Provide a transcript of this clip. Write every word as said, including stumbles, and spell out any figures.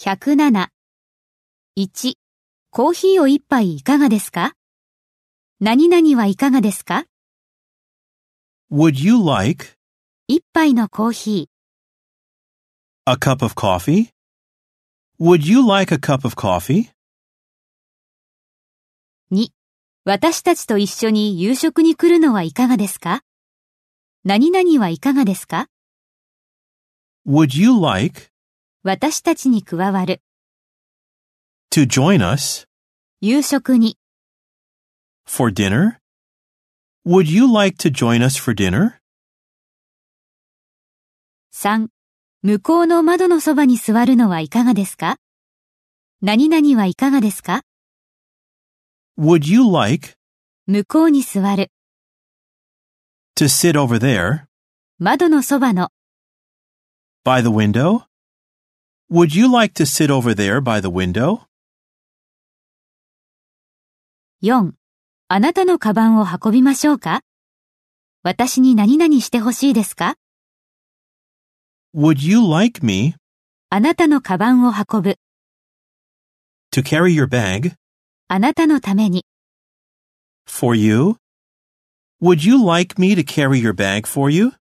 ひゃくなな。いち、コーヒーを一杯いかがですか？何々はいかがですか？ Would you like 一杯のコーヒー。 a cup of coffee? Would you like a cup of coffee? に、私たちと一緒に夕食に来るのはいかがですか？何々はいかがですか？ Would you like 私たちに加わる。 to join us 夕食に。 for dinner? Would you like to join us for dinner? さん、向こうの窓のそばに座るのはいかがですか？何々はいかがですか？ Would you like 向こうに座る。 to sit over there 窓のそばの。 by the window? Would you like to sit over there by the window? よん、あなたのカバンを運びましょうか？私に何々してほしいですか？ Would you like me あなたのカバンを運ぶ。 to carry your bag あなたのために。 for you? Would you like me to carry your bag for you?